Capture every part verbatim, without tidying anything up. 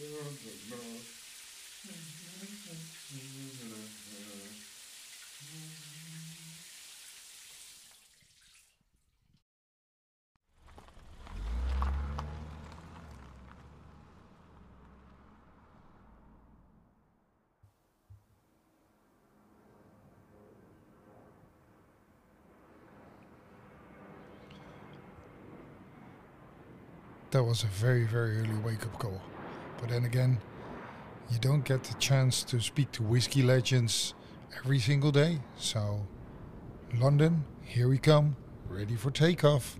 That was a very, very early wake-up call. But then again, you don't get the chance to speak to whiskey legends every single day. So, London, here we come, ready for takeoff.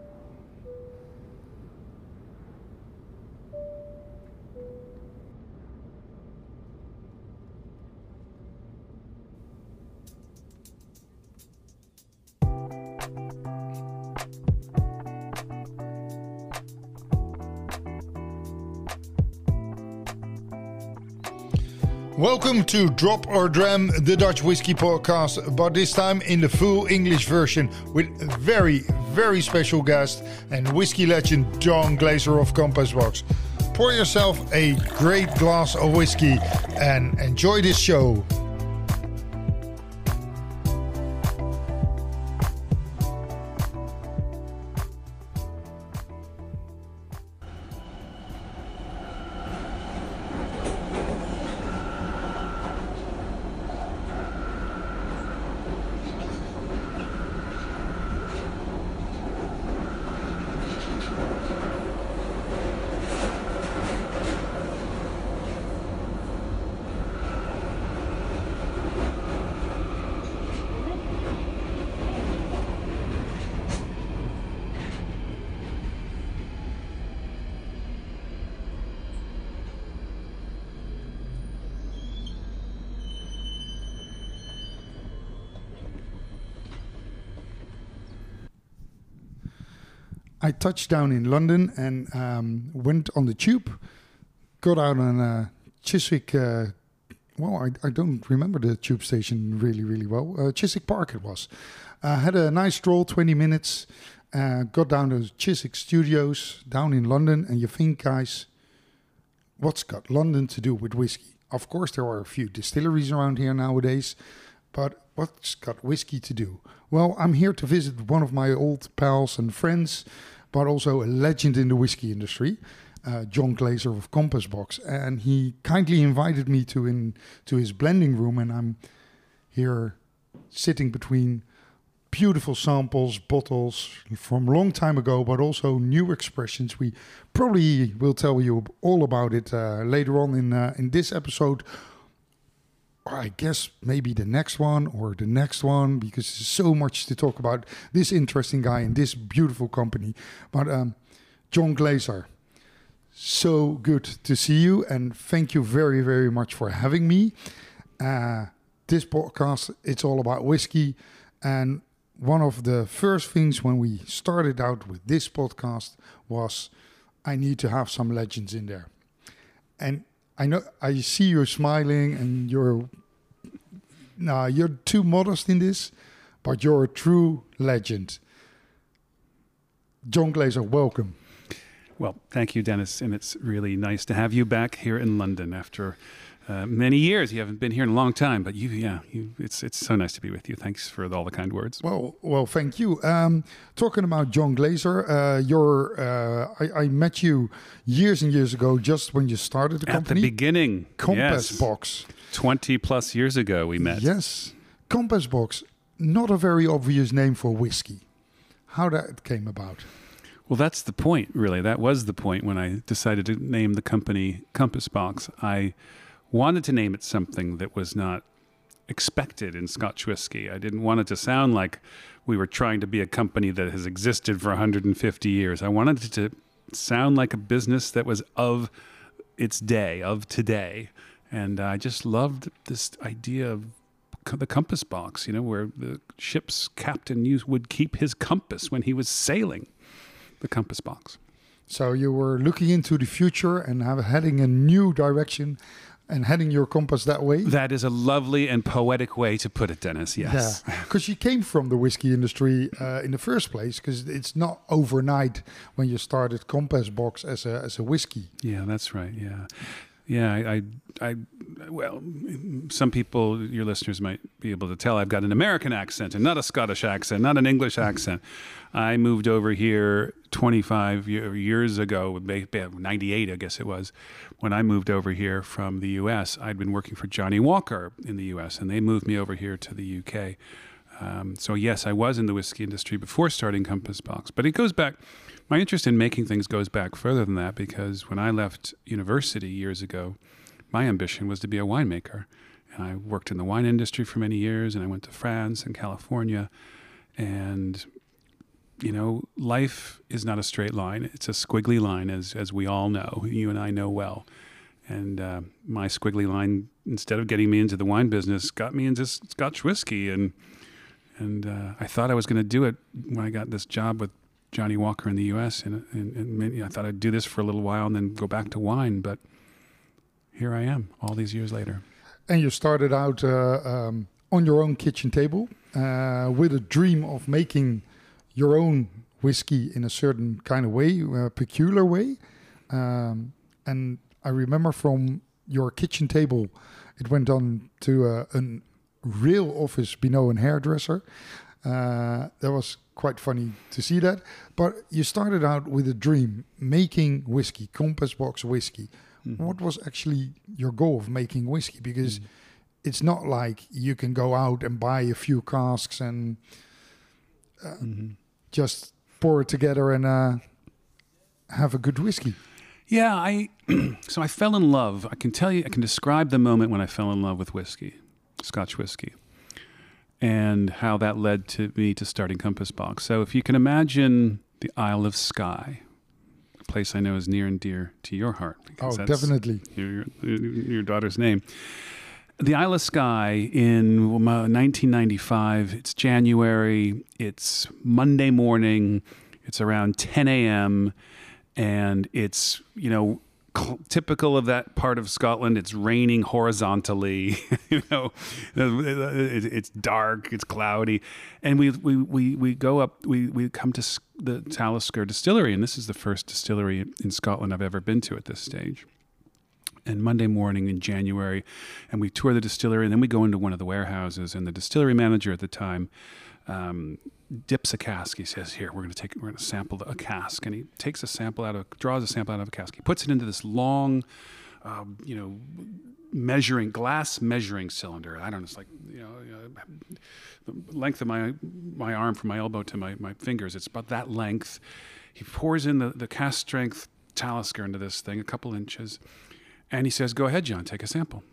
Welcome to Drop or Dram, the Dutch Whiskey Podcast, but this time in the full English version with a very, very special guest and whiskey legend John Glaser of Compass Box. Pour yourself a great glass of whiskey and enjoy this show. I touched down in London and um, went on the tube, got out on uh, Chiswick, uh, well, I, I don't remember the tube station really, really well. Uh, Chiswick Park it was. Uh, had a nice stroll, twenty minutes, uh, got down to Chiswick Studios down in London, and you think, guys, what's got London to do with whiskey? Of course, there are a few distilleries around here nowadays, but what's got whiskey to do? Well, I'm here to visit one of my old pals and friends, but also a legend in the whiskey industry, uh, John Glaser of Compass Box. And he kindly invited me to in to his blending room, and I'm here sitting between beautiful samples, bottles from a long time ago, but also new expressions. We probably will tell you all about it uh, later on in uh, in this episode. Or I guess maybe the next one or the next one, because there's so much to talk about this interesting guy and this beautiful company. But um, John Glaser, so good to see you, and thank you very, very much for having me. Uh, this podcast, it's all about whiskey, and one of the first things when we started out with this podcast was I need to have some legends in there. And I know I see you smiling, and you're nah, you're too modest in this, but you're a true legend. John Glaser, welcome. Well, thank you, Dennis, and it's really nice to have you back here in London after uh, many years. You haven't been here in a long time, but you, yeah, you, it's it's so nice to be with you. Thanks for all the kind words. Well, well, thank you. Um, talking about John Glaser, uh, you're, uh, I, I met you years and years ago, just when you started the At company. At the beginning. Compass yes. Box. twenty plus years ago we met. Yes. Compass Box, not a very obvious name for whiskey. How that came about? Well, that's the point, really. That was the point when I decided to name the company Compass Box. I wanted to name it something that was not expected in Scotch whiskey. I didn't want it to sound like we were trying to be a company that has existed for one hundred fifty years. I wanted it to sound like a business that was of its day, of today. And I just loved this idea of the compass box, you know, where the ship's captain used, would keep his compass when he was sailing. The compass box. So you were looking into the future and have, heading a new direction and heading your compass that way. That is a lovely and poetic way to put it, Dennis. Yes. Yeah, because you came from the whiskey industry uh, in the first place, because it's not overnight when you started Compass Box as a as a whiskey. Yeah, that's right. Yeah. Yeah, I, I, I, well, some people, your listeners might be able to tell I've got an American accent and not a Scottish accent, not an English accent. I moved over here twenty-five year, years ago, ninety-eight, I guess it was, when I moved over here from the U S. I'd been working for Johnny Walker in the U S, and they moved me over here to the U K. Um, so yes, I was in the whiskey industry before starting Compass Box, but it goes back. My interest in making things goes back further than that, because when I left university years ago, my ambition was to be a winemaker. And I worked in the wine industry for many years, and I went to France and California. And, you know, life is not a straight line. It's a squiggly line, as as we all know. You and I know well. And uh, my squiggly line, instead of getting me into the wine business, got me into Scotch whiskey. And, and uh, I thought I was going to do it when I got this job with Johnny Walker in the U S, and, and, and maybe I thought I'd do this for a little while and then go back to wine, but here I am all these years later. And you started out uh, um, on your own kitchen table uh, with a dream of making your own whiskey in a certain kind of way, a peculiar way. Um, and I remember from your kitchen table, it went on to a, a real office Binot and hairdresser. Uh, that was quite funny to see that. But you started out with a dream, making whiskey, Compass Box whiskey. Mm-hmm. What was actually your goal of making whiskey? Because mm-hmm. it's not like you can go out and buy a few casks and uh, mm-hmm. just pour it together and uh, have a good whiskey. Yeah, I so I fell in love. I can tell you, I can describe the moment when I fell in love with whiskey, Scotch whiskey, and how that led to me to starting Compass Box. So if you can imagine the Isle of Skye, a place I know is near and dear to your heart. Oh, definitely. Your, your, your daughter's name. The Isle of Skye in nineteen ninety-five, it's January, it's Monday morning, it's around ten a.m., and it's, you know, cl- typical of that part of Scotland. It's raining horizontally, you know, it, it's dark, it's cloudy. And we, we, we, we go up, we, we come to the Talisker Distillery, and this is the first distillery in Scotland I've ever been to at this stage. And Monday morning in January, and we tour the distillery, and then we go into one of the warehouses, and the distillery manager at the time um, dips a cask. He says, "Here, we're going to take, we're going to sample a cask," and he takes a sample out of, draws a sample out of a cask. He puts it into this long, uh, you know, measuring glass measuring cylinder. I don't know, it's like, you know, uh, the length of my my arm from my elbow to my my fingers. It's about that length. He pours in the the cask strength Talisker into this thing, a couple inches. And he says, "Go ahead, John, take a sample."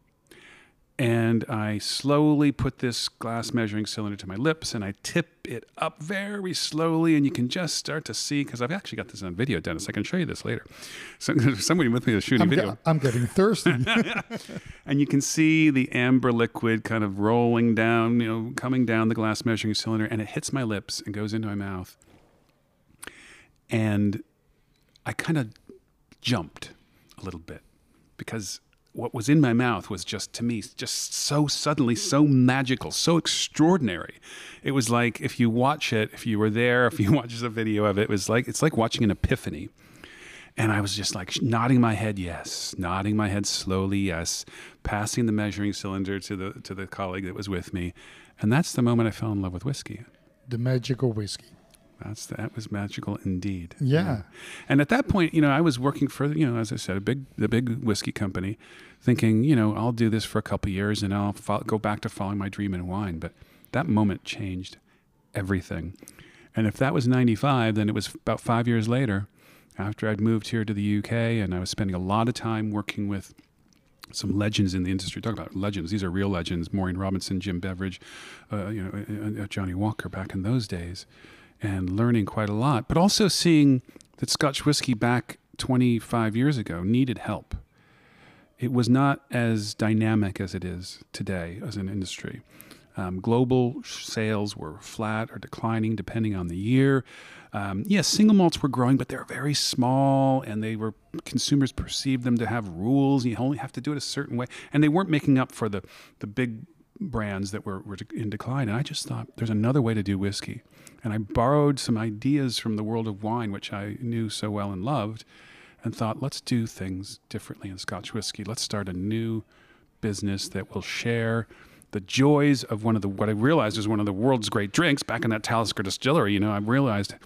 And I slowly put this glass measuring cylinder to my lips, and I tip it up very slowly, and you can just start to see, because I've actually got this on video, Dennis. I can show you this later. So there's somebody with me that's shooting I'm video. Ge- I'm getting thirsty. And you can see the amber liquid kind of rolling down, you know, coming down the glass measuring cylinder, and it hits my lips and goes into my mouth. And I kind of jumped a little bit, because what was in my mouth was just, to me, just so suddenly, so magical, so extraordinary. It was like, if you watch it, if you were there, if you watch the video of it, it was like, it's like watching an epiphany. And I was just like nodding my head, yes, nodding my head slowly, yes, passing the measuring cylinder to the to the colleague that was with me. And that's the moment I fell in love with whiskey. The magical whiskey. That's that was magical indeed. Yeah. yeah. And at that point, you know, I was working for, you know, as I said, a big, the big whiskey company, thinking, you know, I'll do this for a couple of years and I'll fo- go back to following my dream in wine. But that moment changed everything. And if that was ninety-five, then it was about five years later, after I'd moved here to the U K, and I was spending a lot of time working with some legends in the industry. Talk about legends. These are real legends. Maureen Robinson, Jim Beveridge, uh, you know, uh, Johnny Walker back in those days. And learning quite a lot, but also seeing that Scotch whiskey back twenty-five years ago needed help. It was not as dynamic as it is today as an industry. Um, global sales were flat or declining depending on the year. Um, yes, single malts were growing, but they were very small, and they were consumers perceived them to have rules. You only have to do it a certain way, and they weren't making up for the the big brands that were, were in decline. And I just thought there's another way to do whiskey, and I borrowed some ideas from the world of wine, which I knew so well and loved, and thought, let's do things differently in Scotch whiskey. Let's start a new business that will share the joys of one of the, what I realized is one of the world's great drinks back in that Talisker distillery. You know, I realized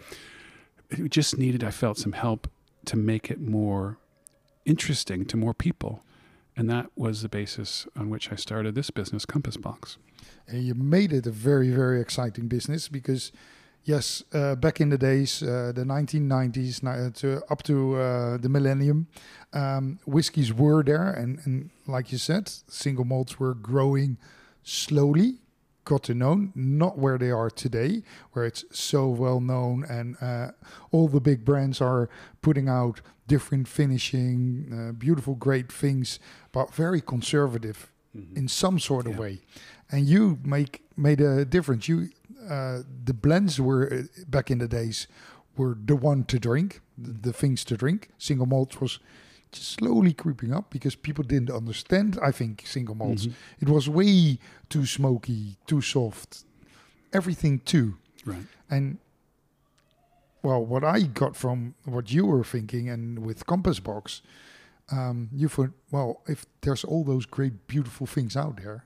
it just needed, I felt some help to make it more interesting to more people. And that was the basis on which I started this business, Compass Box. And you made it a very, very exciting business because, yes, uh, back in the days, uh, the nineteen nineties uh, to, up to uh, the millennium, um, whiskies were there. And, and like you said, single malts were growing slowly, got to know, not where they are today, where it's so well known and uh, all the big brands are putting out different finishing, uh, beautiful, great things, but very conservative mm-hmm. in some sort of yeah. way. And you make made a difference. You uh, the blends were uh, back in the days were the one to drink, the, the things to drink. Single malt was just slowly creeping up because people didn't understand, I think, single malts. Mm-hmm. It was way too smoky, too soft, everything too. Right. And, well, what I got from what you were thinking and with Compass Box, um, you thought, well, if there's all those great, beautiful things out there,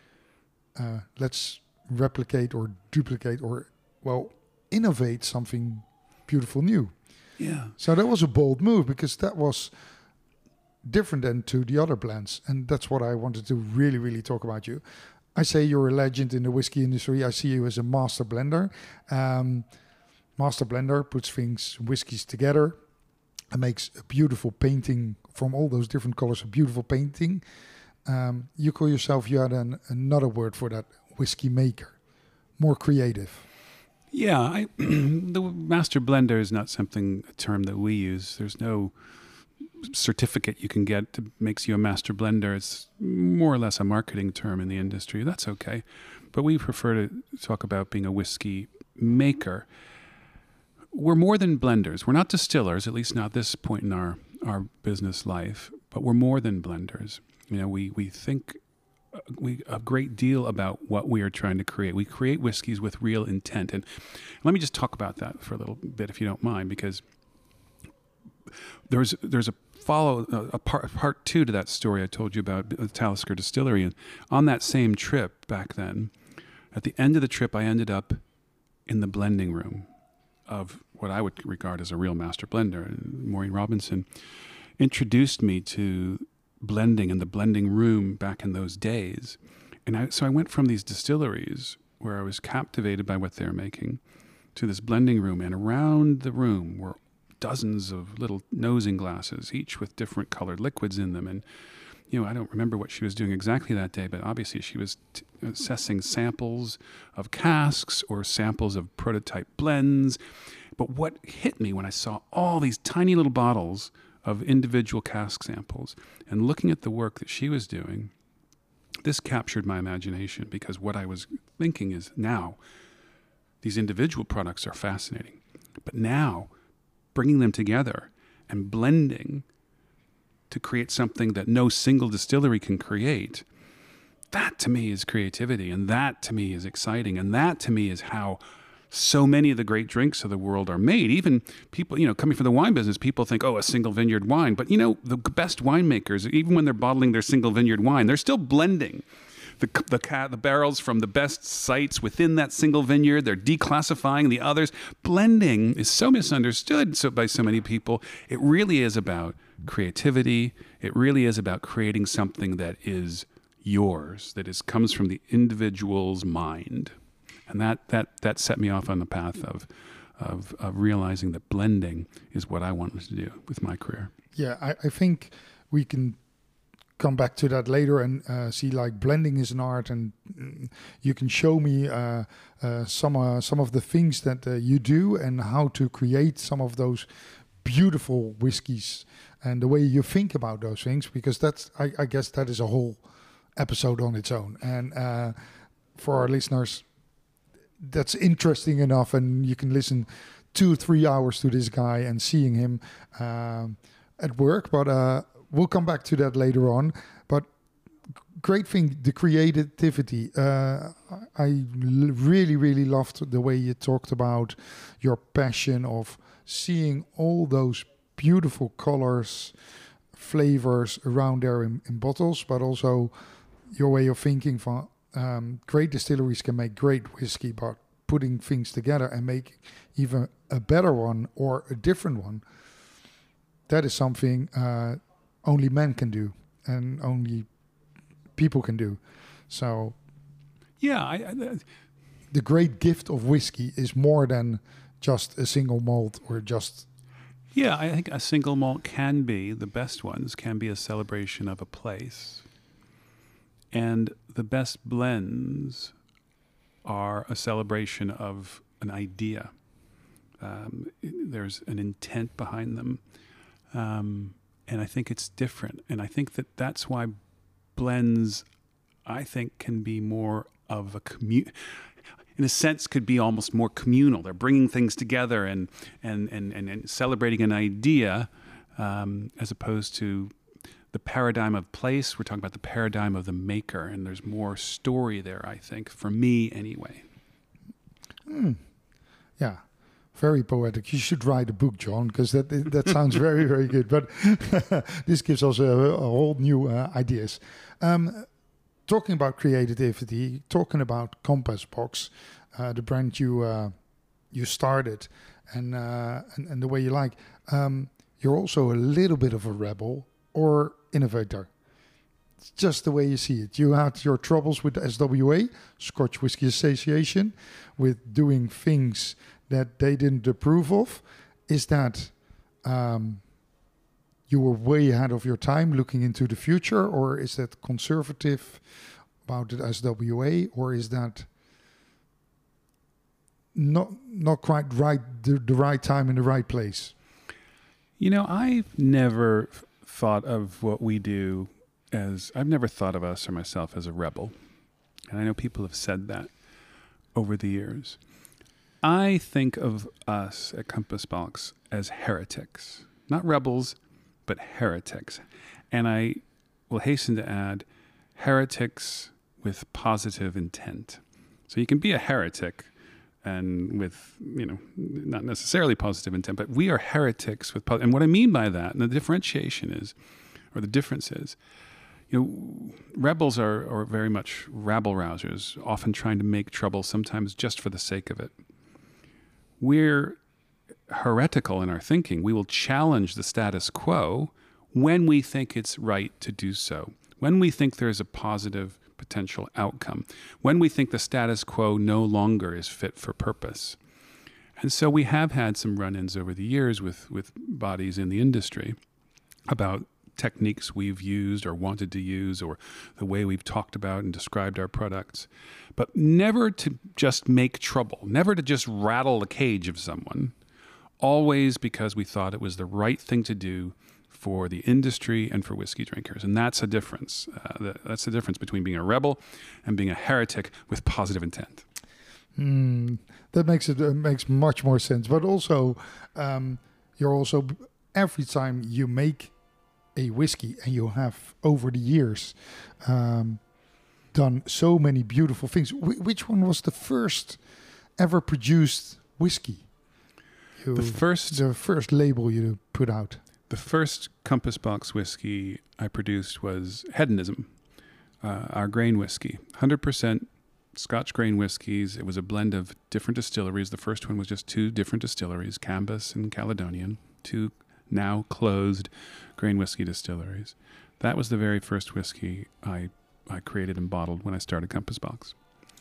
uh, let's replicate or duplicate or, well, innovate something beautiful new. Yeah. So that was a bold move because that was different than to the other blends, and that's what I wanted to really really talk about you. I say you're a legend in the whiskey industry. I see you as a master blender. um, master blender puts things, whiskeys together and makes a beautiful painting from all those different colors, a beautiful painting. Um, you call yourself, you had an, another word for that, whiskey maker, more creative. Yeah, I, the master blender is not something, a term that we use. There's no certificate you can get that makes you a master blender. It's more or less a marketing term in the industry. That's okay. But we prefer to talk about being a whiskey maker. We're more than blenders. We're not distillers, at least not at this point in our, our business life, but we're more than blenders. You know, we, we think we a great deal about what we are trying to create. We create whiskeys with real intent. And let me just talk about that for a little bit, if you don't mind, because there's there's a follow a part part two to that story I told you about the Talisker Distillery. And on that same trip back then, at the end of the trip, I ended up in the blending room of what I would regard as a real master blender. Maureen Robinson introduced me to blending in the blending room back in those days. And I, so I went from these distilleries where I was captivated by what they're making to this blending room. And around the room were dozens of little nosing glasses, each with different colored liquids in them. And, you know, I don't remember what she was doing exactly that day, but obviously she was t- assessing samples of casks or samples of prototype blends. But what hit me when I saw all these tiny little bottles of individual cask samples and looking at the work that she was doing, this captured my imagination, because what I was thinking is, now these individual products are fascinating, but now bringing them together and blending to create something that no single distillery can create, that to me is creativity, and that to me is exciting, and that to me is how so many of the great drinks of the world are made. Even people, you know, coming from the wine business, people think, oh, a single vineyard wine. But, you know, the best winemakers, even when they're bottling their single vineyard wine, they're still blending the the, the barrels from the best sites within that single vineyard. They're declassifying the others. Blending is so misunderstood so, by so many people. It really is about creativity. It really is about creating something that is yours, that is comes from the individual's mind. And that, that, that set me off on the path of, of of realizing that blending is what I wanted to do with my career. Yeah, I, I think we can come back to that later and uh, see, like, blending is an art, and mm, you can show me uh, uh, some uh, some of the things that uh, you do and how to create some of those beautiful whiskeys and the way you think about those things, because that's I, I guess that is a whole episode on its own. And uh, for our listeners, that's interesting enough, and you can listen two, three hours to this guy and seeing him um, at work. But uh, we'll come back to that later on. But great thing, the creativity. Uh, I l- really, really loved the way you talked about your passion of seeing all those beautiful colors, flavors around there in, in bottles, but also your way of thinking from um, great distilleries can make great whiskey, but putting things together and make even a better one or a different one, that is something uh, only men can do and only people can do. So yeah, I, I, the great gift of whiskey is more than just a single malt or just... Yeah, I think a single malt can be, the best ones can be a celebration of a place. And the best blends are a celebration of an idea. Um, there's an intent behind them. Um, and I think it's different. And I think that that's why blends, I think, can be more of a commu- in a sense, could be almost more communal. They're bringing things together and and and and, and celebrating an idea, um, as opposed to the paradigm of place. We're talking about the paradigm of the maker, and there's more story there, I think, for me anyway. Mm. Yeah, very poetic. You should write a book, John, because that that sounds very, very good. But this gives us a, a whole new uh, ideas. Um, talking about creativity, talking about Compass Box, uh, the brand you uh, you started, and, uh, and and the way you like. Um, you're also a little bit of a rebel or innovator. It's just the way you see it. You had your troubles with the S W A, Scotch Whisky Association, with doing things that they didn't approve of. Is that um, you were way ahead of your time looking into the future, or is that conservative about the S W A, or is that not not quite right, the, the right time in the right place? You know, I've never f- thought of what we do as, I've never thought of us or myself as a rebel. And I know people have said that over the years. I think of us at Compass Box as heretics, not rebels, but heretics. And I will hasten to add, heretics with positive intent. So you can be a heretic and with, you know, not necessarily positive intent, but we are heretics with, po- and what I mean by that, and the differentiation is, or the difference is, you know, rebels are, are very much rabble-rousers, often trying to make trouble, sometimes just for the sake of it. We're heretical in our thinking. We will challenge the status quo when we think it's right to do so, when we think there's a positive potential outcome, when we think the status quo no longer is fit for purpose. And so we have had some run-ins over the years with, with bodies in the industry about techniques we've used or wanted to use, or the way we've talked about and described our products, but never to just make trouble, never to just rattle the cage of someone, always because we thought it was the right thing to do for the industry and for whiskey drinkers. And that's a difference. Uh, that's the difference between being a rebel and being a heretic with positive intent. Mm, that makes it uh, makes much more sense. But also, um, you're also, every time you make a whiskey, and you have over the years um, done so many beautiful things. Wh- which one was the first ever produced whiskey? You, the first, the first label you put out. The first Compass Box whiskey I produced was Hedonism, uh, our grain whiskey, one hundred percent Scotch grain whiskeys. It was a blend of different distilleries. The first one was just two different distilleries, Cambus and Caledonian, two now closed grain whiskey distilleries. That was the very first whiskey I I created and bottled when I started Compass Box.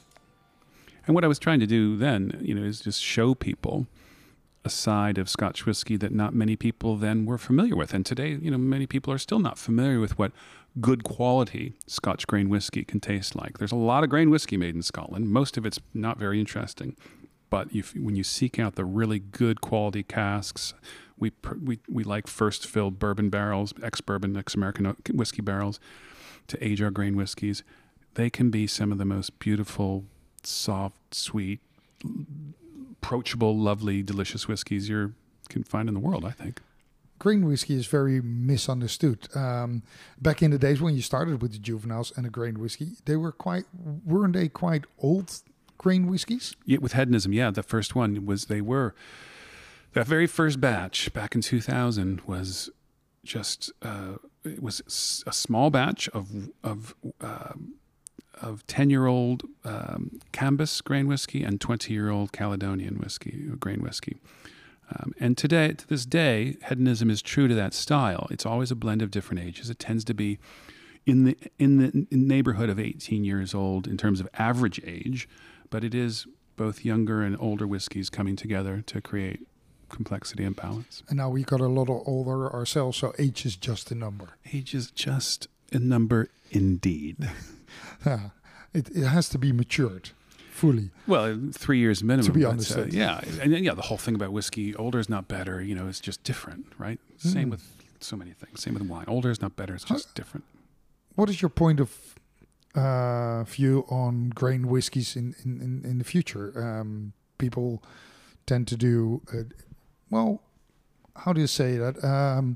And what I was trying to do then, you know, is just show people a side of Scotch whiskey that not many people then were familiar with. And today, you know, many people are still not familiar with what good quality Scotch grain whiskey can taste like. There's a lot of grain whiskey made in Scotland. Most of it's not very interesting. But if, when you seek out the really good quality casks, we we we like first filled bourbon barrels, ex-bourbon, ex-American whiskey barrels to age our grain whiskeys. they can be some of the most beautiful, soft, sweet, approachable, lovely, delicious whiskeys you can find in the world, I think. Grain whiskey is very misunderstood. Um, back in the days when you started with the juveniles and the grain whiskey, they were quite, weren't they quite old grain whiskies? Yeah, with hedonism, yeah, the first one was, they were, that very first batch back in two thousand was just, uh, it was a small batch of, of, um, of ten-year-old um, Cambus grain whiskey and twenty-year-old Caledonian whiskey, grain whiskey. Um, and today, to this day, hedonism is true to that style. It's always a blend of different ages. It tends to be in the in the in neighborhood of eighteen years old in terms of average age, but it is both younger and older whiskeys coming together to create complexity and balance. And now we got a lot of older ourselves, so age is just a number. Age is just a number indeed. Yeah, it, it has to be matured. Fully. Well, three years minimum. To be uh, understood. yeah. And then, yeah, the whole thing about whiskey, older is not better, you know, it's just different, right? Mm. Same with so many things. Same with wine. Older is not better, it's just How, different. What is your point of uh, view on grain whiskies in, in, in, in the future? Um, people tend to do, uh, well, how do you say that? Um,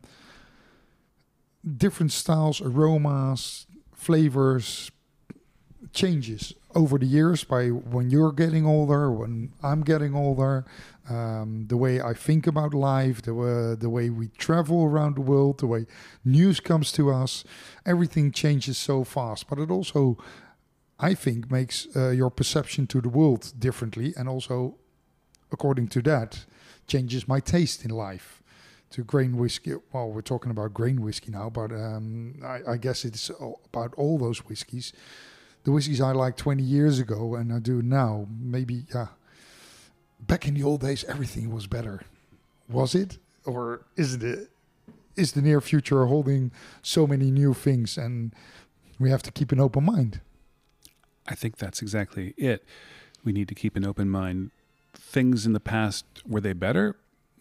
different styles, aromas, flavors, changes over the years by when you're getting older, when I'm getting older, um, the way I think about life, the, uh, the way we travel around the world, the way news comes to us, everything changes so fast. But it also, I think, makes uh, your perception to the world differently, and also, according to that, changes my taste in life. To grain whiskey, well, we're talking about grain whiskey now, but um, I, I guess it's about all those whiskeys. The whiskeys I liked twenty years ago and I do now, maybe, yeah. Back in the old days, everything was better. Was it? Or is it? Is the near future holding so many new things and we have to keep an open mind? I think that's exactly it. We need to keep an open mind. Things in the past, were they better?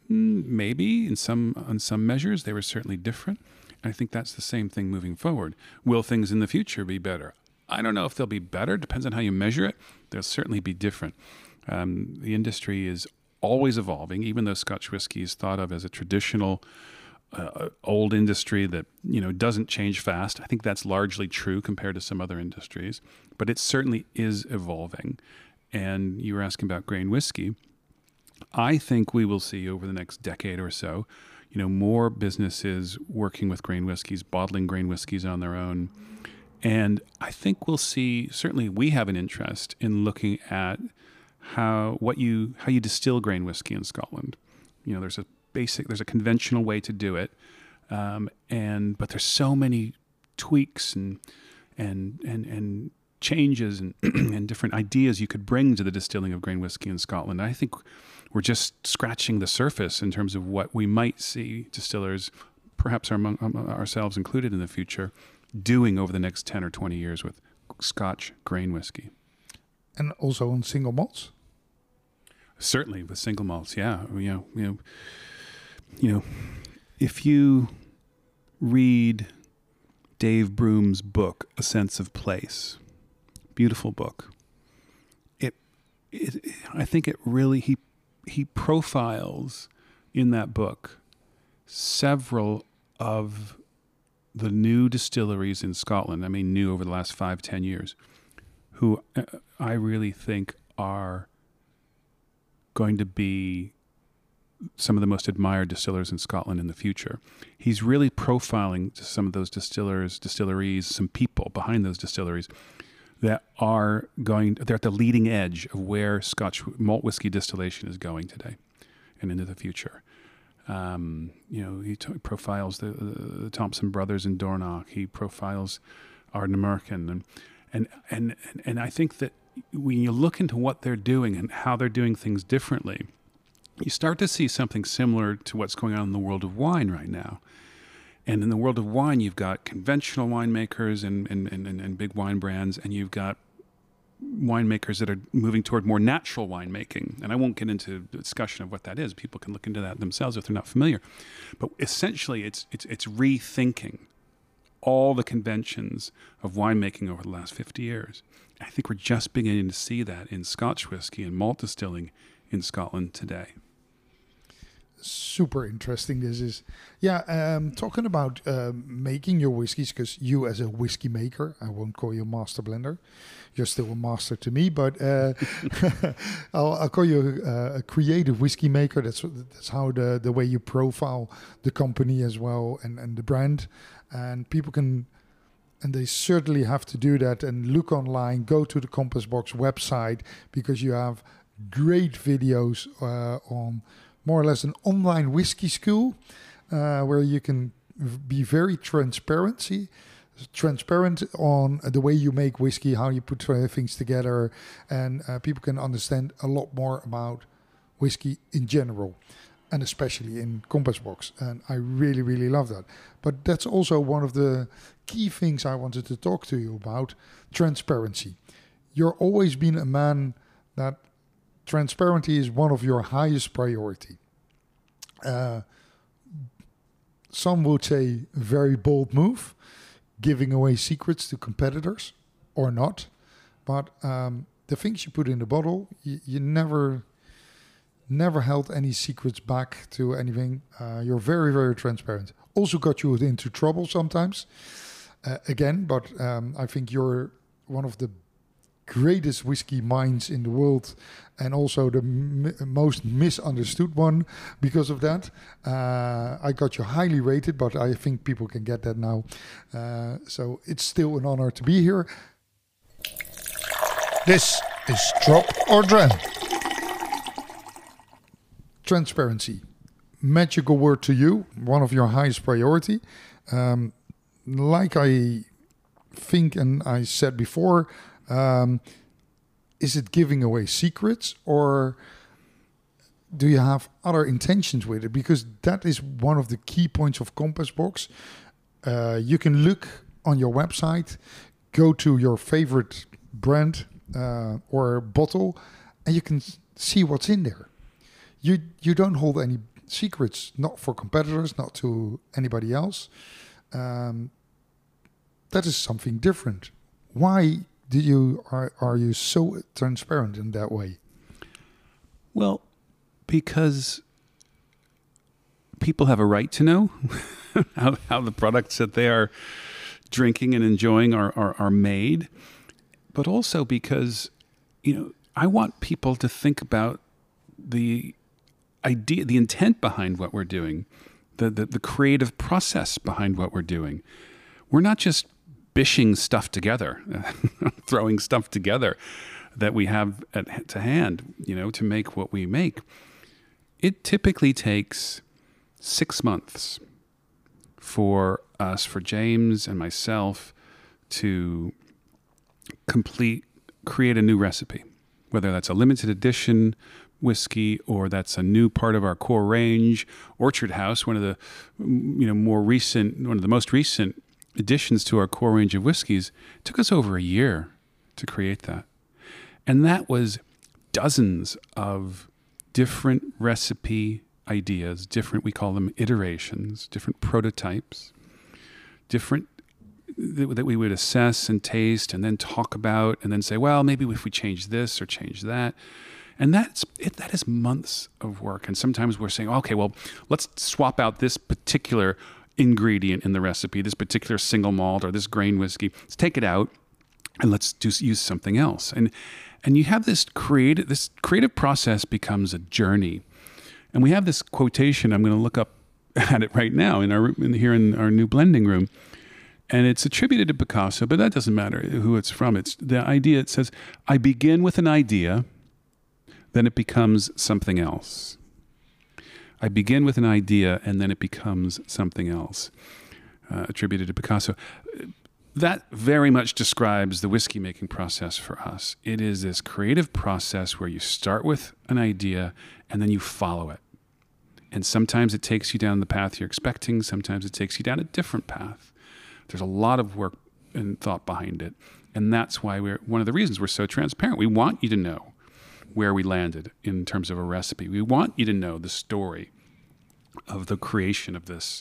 Maybe in some, on some measures, they were certainly different. I think that's the same thing moving forward. Will things in the future be better? I don't know if they'll be better. Depends on how you measure it. They'll certainly be different. Um, the industry is always evolving, even though Scotch whiskey is thought of as a traditional uh, old industry that, you know, doesn't change fast. I think that's largely true compared to some other industries, but it certainly is evolving. And you were asking about grain whiskey. I think we will see over the next decade or so, you know, more businesses working with grain whiskeys, bottling grain whiskeys on their own. And I think we'll see, certainly we have an interest in looking at how what you how you distill grain whiskey in Scotland. You know, there's a basic, there's a conventional way to do it, um, and but there's so many tweaks and and and and changes and and different ideas you could bring to the distilling of grain whiskey in Scotland. I think we're just scratching the surface in terms of what we might see distillers, perhaps our, ourselves included in the future, doing over the next ten or twenty years with Scotch grain whiskey. And also on single malts? Certainly with single malts, yeah. You know, you know, you know, if you read Dave Broom's book, A Sense of Place, beautiful book, it, it I think it really, he, he profiles in that book several of the new distilleries in Scotland, I mean new over the last five, ten years, who I really think are going to be some of the most admired distillers in Scotland in the future. He's really profiling some of those distillers, distilleries, some people behind those distilleries that are going, they're at the leading edge of where Scotch malt whiskey distillation is going today and into the future. Um, you know, he t- profiles the, the, the Thompson brothers in Dornoch. He profiles Ardnamurchan, and and and and I think that when you look into what they're doing and how they're doing things differently, you start to see something similar to what's going on in the world of wine right now. And in the world of wine, you've got conventional winemakers and and, and, and big wine brands, and you've got winemakers that are moving toward more natural winemaking. And I won't get into the discussion of what that is. People can look into that themselves if they're not familiar. But essentially, it's it's it's rethinking all the conventions of winemaking over the last fifty years. I think we're just beginning to see that in Scotch whiskey and malt distilling in Scotland today. Super interesting this is. Yeah, um, talking about uh, making your whiskeys, because you as a whiskey maker, I won't call you a master blender. You're still a master to me, but uh, I'll, I'll call you a, a creative whiskey maker. That's that's how the, the way you profile the company as well and, and the brand. And people can, and they certainly have to do that and look online, go to the Compass Box website, because you have great videos uh, on more or less an online whiskey school uh, where you can v- be very transparency, transparent on the way you make whiskey, how you put uh, things together, and uh, people can understand a lot more about whiskey in general, and especially in Compass Box. And I really, really love that. But that's also one of the key things I wanted to talk to you about, transparency. You're always been a man that transparency is one of your highest priority. Uh, some would say very bold move, giving away secrets to competitors or not. But um, the things you put in the bottle, you, you never, never held any secrets back to anything. Uh, you're very, very transparent. Also got you into trouble sometimes, uh, again. But um, I think you're one of the greatest whiskey minds in the world, and also the m- most misunderstood one because of that. Uh, I got you highly rated, but I think people can get that now. Uh, so it's still an honor to be here. This is Drop or Dram. Transparency. Magical word to you, one of your highest priority. Um, like I think and I said before, Um, is it giving away secrets, or do you have other intentions with it? Because that is one of the key points of Compass Box. Uh, you can look on your website, go to your favorite brand uh, or bottle, and you can see what's in there. You you don't hold any secrets, not for competitors, not to anybody else. Um, that is something different. Why do you are are you so transparent in that way? Well, because people have a right to know how, how the products that they are drinking and enjoying are, are, are made, but also because, you know, I want people to think about the idea, the intent behind what we're doing, the, the, the creative process behind what we're doing. We're not just bishing stuff together, throwing stuff together that we have at to hand, you know, to make what we make. It typically takes six months for us, for James and myself, to complete, create a new recipe, whether that's a limited edition whiskey or that's a new part of our core range. Orchard House, one of the, you know, more recent, one of the most recent additions to our core range of whiskeys, took us over a year to create that. And that was dozens of different recipe ideas, different, we call them iterations, different prototypes, different th- that we would assess and taste and then talk about and then say, well, maybe if we change this or change that. And that's it, that is months of work. And sometimes we're saying, okay, well, let's swap out this particular ingredient in the recipe, this particular single malt or this grain whiskey. Let's take it out and let's do use something else. And and you have this creative this creative process becomes a journey. And we have this quotation. I'm going to look up at it right now in our in, here in our new blending room, and it's attributed to Picasso, but that doesn't matter who it's from. It's the idea. It says, "I begin with an idea, then it becomes something else." I begin with an idea, and then it becomes something else, uh, attributed to Picasso. That very much describes the whiskey making process for us. It is this creative process where you start with an idea, and then you follow it. And sometimes it takes you down the path you're expecting. Sometimes it takes you down a different path. There's a lot of work and thought behind it. And that's why we're, one of the reasons we're so transparent. We want you to know where we landed in terms of a recipe. We want you to know the story of the creation of this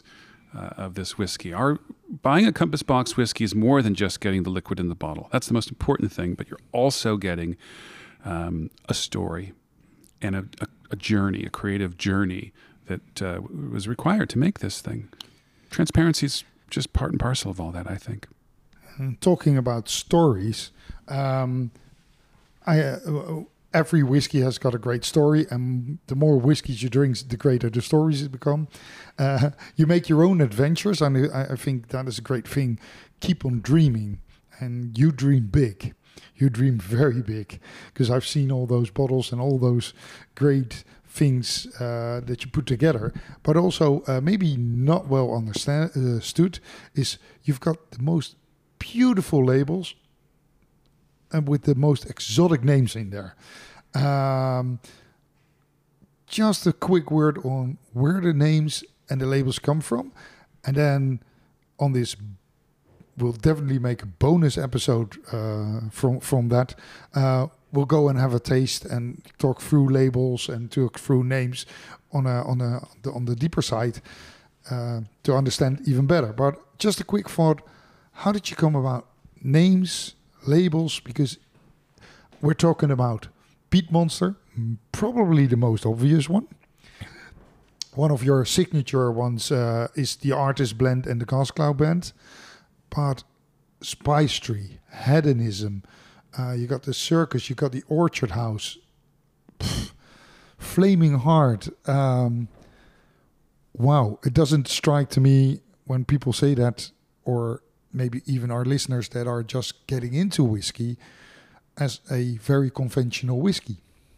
uh, of this whiskey. Our buying a Compass Box whiskey is more than just getting the liquid in the bottle. That's the most important thing, but you're also getting um, a story and a, a, a journey, a creative journey that uh, was required to make this thing. Transparency is just part and parcel of all that, I think. And talking about stories, um, I, uh, every whiskey has got a great story, and the more whiskeys you drink, the greater the stories become. Uh, you make your own adventures, and I, I think that is a great thing. Keep on dreaming, and you dream big. You dream very big, because I've seen all those bottles and all those great things uh, that you put together, but also uh, maybe not well understand, uh, understood is you've got the most beautiful labels and with the most exotic names in there. Um, just a quick word on where the names and the labels come from, and then on this we'll definitely make a bonus episode uh, from from that. Uh, we'll go and have a taste and talk through labels and talk through names on a on a on the deeper side uh, to understand even better. But just a quick thought: how did you come about names, labels? Because we're talking about Peat Monster, probably the most obvious one. One of your signature ones uh, is the Artist Blend and the Gas Cloud Blend. But Spice Tree, Hedonism, uh, you got the Circus, you got the Orchard House, Pff, Flaming Heart. Um, wow, it doesn't strike to me when people say that, or maybe even our listeners that are just getting into whiskey, as a very conventional whiskey.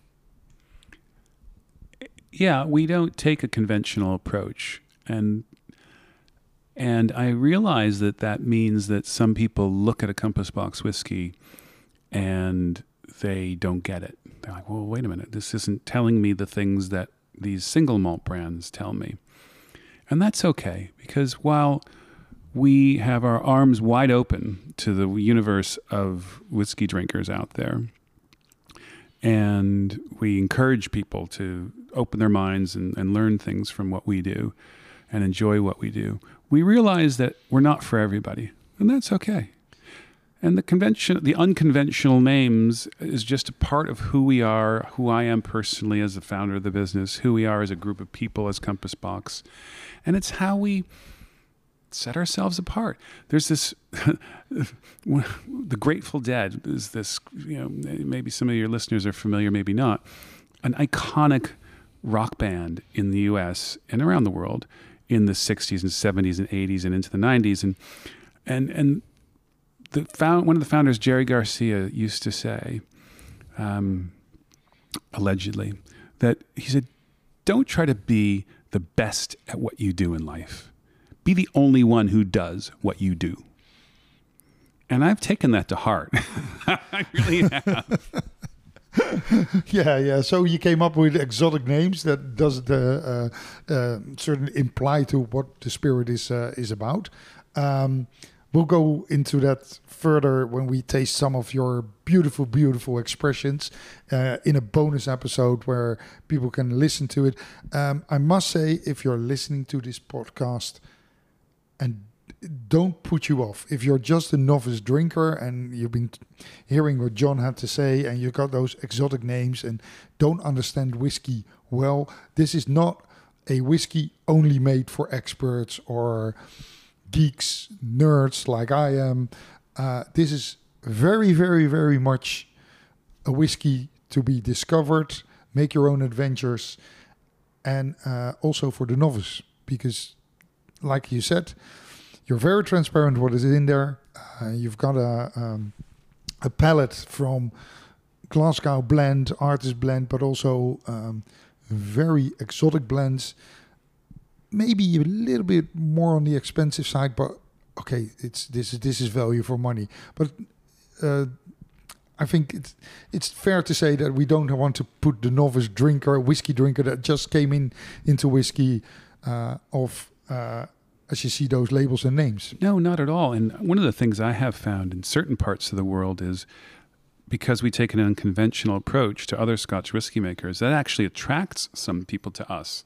Yeah, we don't take a conventional approach. And And I realize that that means that some people look at a Compass Box whiskey and they don't get it. They're like, well, wait a minute. This isn't telling me the things that these single malt brands tell me. And that's okay, because while we have our arms wide open to the universe of whiskey drinkers out there, and we encourage people to open their minds and, and learn things from what we do and enjoy what we do, we realize that we're not for everybody, and that's okay. And the convention, the unconventional names is just a part of who we are, who I am personally as the founder of the business, who we are as a group of people as Compass Box. And it's how we set ourselves apart. There's this, the Grateful Dead is this, you know, maybe some of your listeners are familiar, maybe not, an iconic rock band in the U S and around the world in the sixties and seventies and eighties and into the nineties. And, and, and the found, one of the founders, Jerry Garcia, used to say, um, allegedly, that he said, don't try to be the best at what you do in life. Be the only one who does what you do. And I've taken that to heart. I really have. yeah, yeah. So you came up with exotic names that doesn't uh, uh, uh, certainly imply to what the spirit is uh, is about. Um, we'll go into that further when we taste some of your beautiful, beautiful expressions uh, in a bonus episode where people can listen to it. Um, I must say, if you're listening to this podcast, and don't put you off. If you're just a novice drinker and you've been hearing what John had to say and you got those exotic names and don't understand whiskey well, this is not a whiskey only made for experts or geeks, nerds like I am. Uh, this is very, very, very much a whiskey to be discovered, make your own adventures, and uh, also for the novice, because like you said, you're very transparent what is in there. Uh, you've got a um, a palette from Glasgow blend, Artist Blend, but also um, very exotic blends. Maybe a little bit more on the expensive side, but okay, it's this is this is value for money. But uh, I think it's it's fair to say that we don't want to put the novice drinker, whiskey drinker that just came in into whiskey uh, off. Uh, as you see those labels and names. No, not at all. And one of the things I have found in certain parts of the world is because we take an unconventional approach to other Scotch whiskey makers, that actually attracts some people to us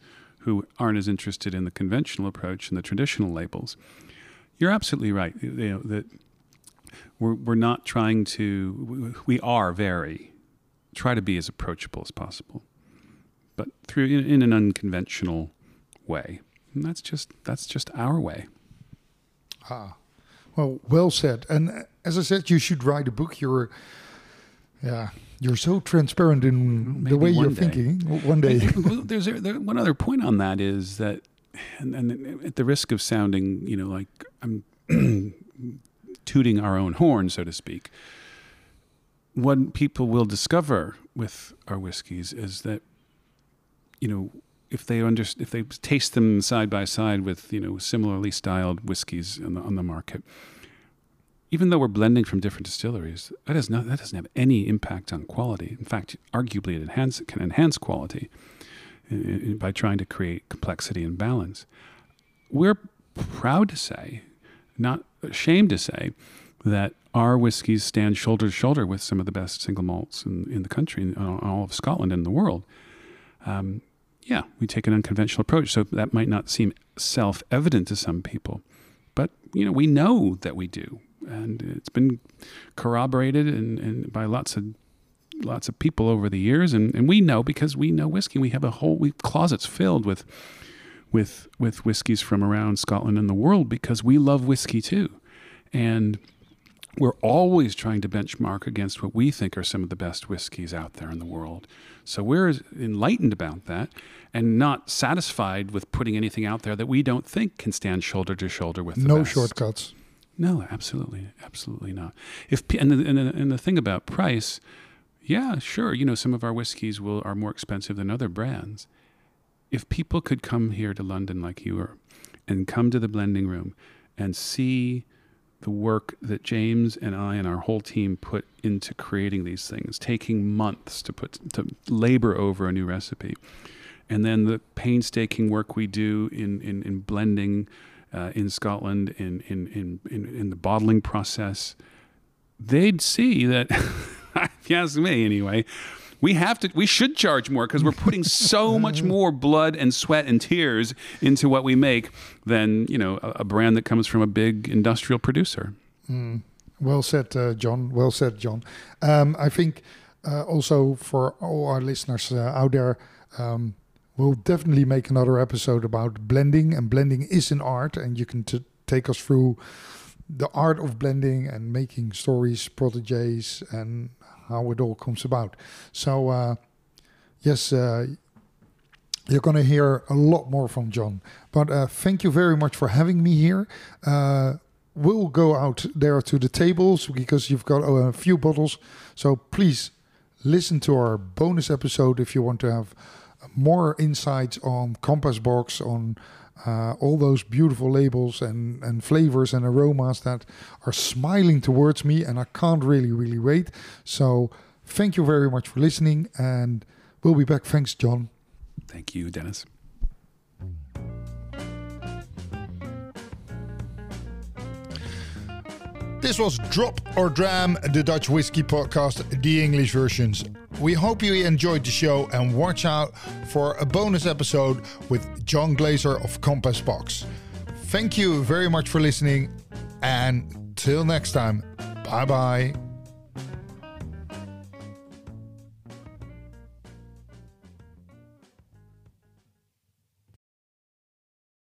who aren't as interested in the conventional approach and the traditional labels. You're absolutely right. You know, that we're we're not trying to. We are very try to be as approachable as possible, but through in, in an unconventional way. And that's just that's just our way. Ah, well, well said. And as I said, you should write a book. You're, yeah, you're so transparent in Maybe the way you're day. thinking. One day. Well, there's a, there, one other point on that is that, and, and at the risk of sounding, you know, like I'm tooting our own horn, so to speak, what people will discover with our whiskeys is that, you know, if they under, if they taste them side by side with, you know, similarly styled whiskeys on the, on the market, even though we're blending from different distilleries, that has not that doesn't have any impact on quality. In fact, arguably it enhance it can enhance quality in, in, by trying to create complexity and balance. We're proud to say, not ashamed to say, that our whiskeys stand shoulder to shoulder with some of the best single malts in, in the country, in all of Scotland and the world. Um, yeah, we take an unconventional approach, so that might not seem self-evident to some people, but you know we know that we do, and it's been corroborated and, and by lots of lots of people over the years, and, and we know because we know whiskey. We have a whole we closets filled with with with whiskeys from around Scotland and the world because we love whiskey too, and we're always trying to benchmark against what we think are some of the best whiskeys out there in the world. So we're enlightened about that and not satisfied with putting anything out there that we don't think can stand shoulder to shoulder with the No best. shortcuts. No, absolutely, absolutely not. If and the, and, the, and the thing about price, yeah, sure, you know, some of our whiskeys will are more expensive than other brands. If people could come here to London like you are and come to the blending room and see the work that James and I and our whole team put into creating these things, taking months to put to labor over a new recipe, and then the painstaking work we do in in, in blending uh, in Scotland in in, in in in the bottling process, they'd see that, if you ask me anyway, we have to, we should charge more because we're putting so much more blood and sweat and tears into what we make than, you know, a, a brand that comes from a big industrial producer. Mm. Well said, uh, John. Well said, John. Um, I think uh, also for all our listeners uh, out there, um, we'll definitely make another episode about blending, and blending is an art, and you can t- take us through the art of blending and making stories, proteges, and how it all comes about. So, uh, yes, uh, you're going to hear a lot more from John. But uh, thank you very much for having me here. Uh, we'll go out there to the tables because you've got a few bottles. So please listen to our bonus episode if you want to have more insights on Compass Box, on Uh, all those beautiful labels and, and flavors and aromas that are smiling towards me, and I can't really, really wait. So thank you very much for listening, and we'll be back. Thanks, John. Thank you, Dennis. This was Drop or Dram, the Dutch Whiskey Podcast, the English versions. We hope you enjoyed the show, and watch out for a bonus episode with John Glaser of Compass Box. Thank you very much for listening, and till next time, bye bye.